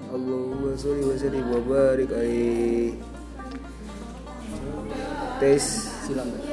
Allahumma sholli wa sallim wa barik alaihi. Tes Silakan.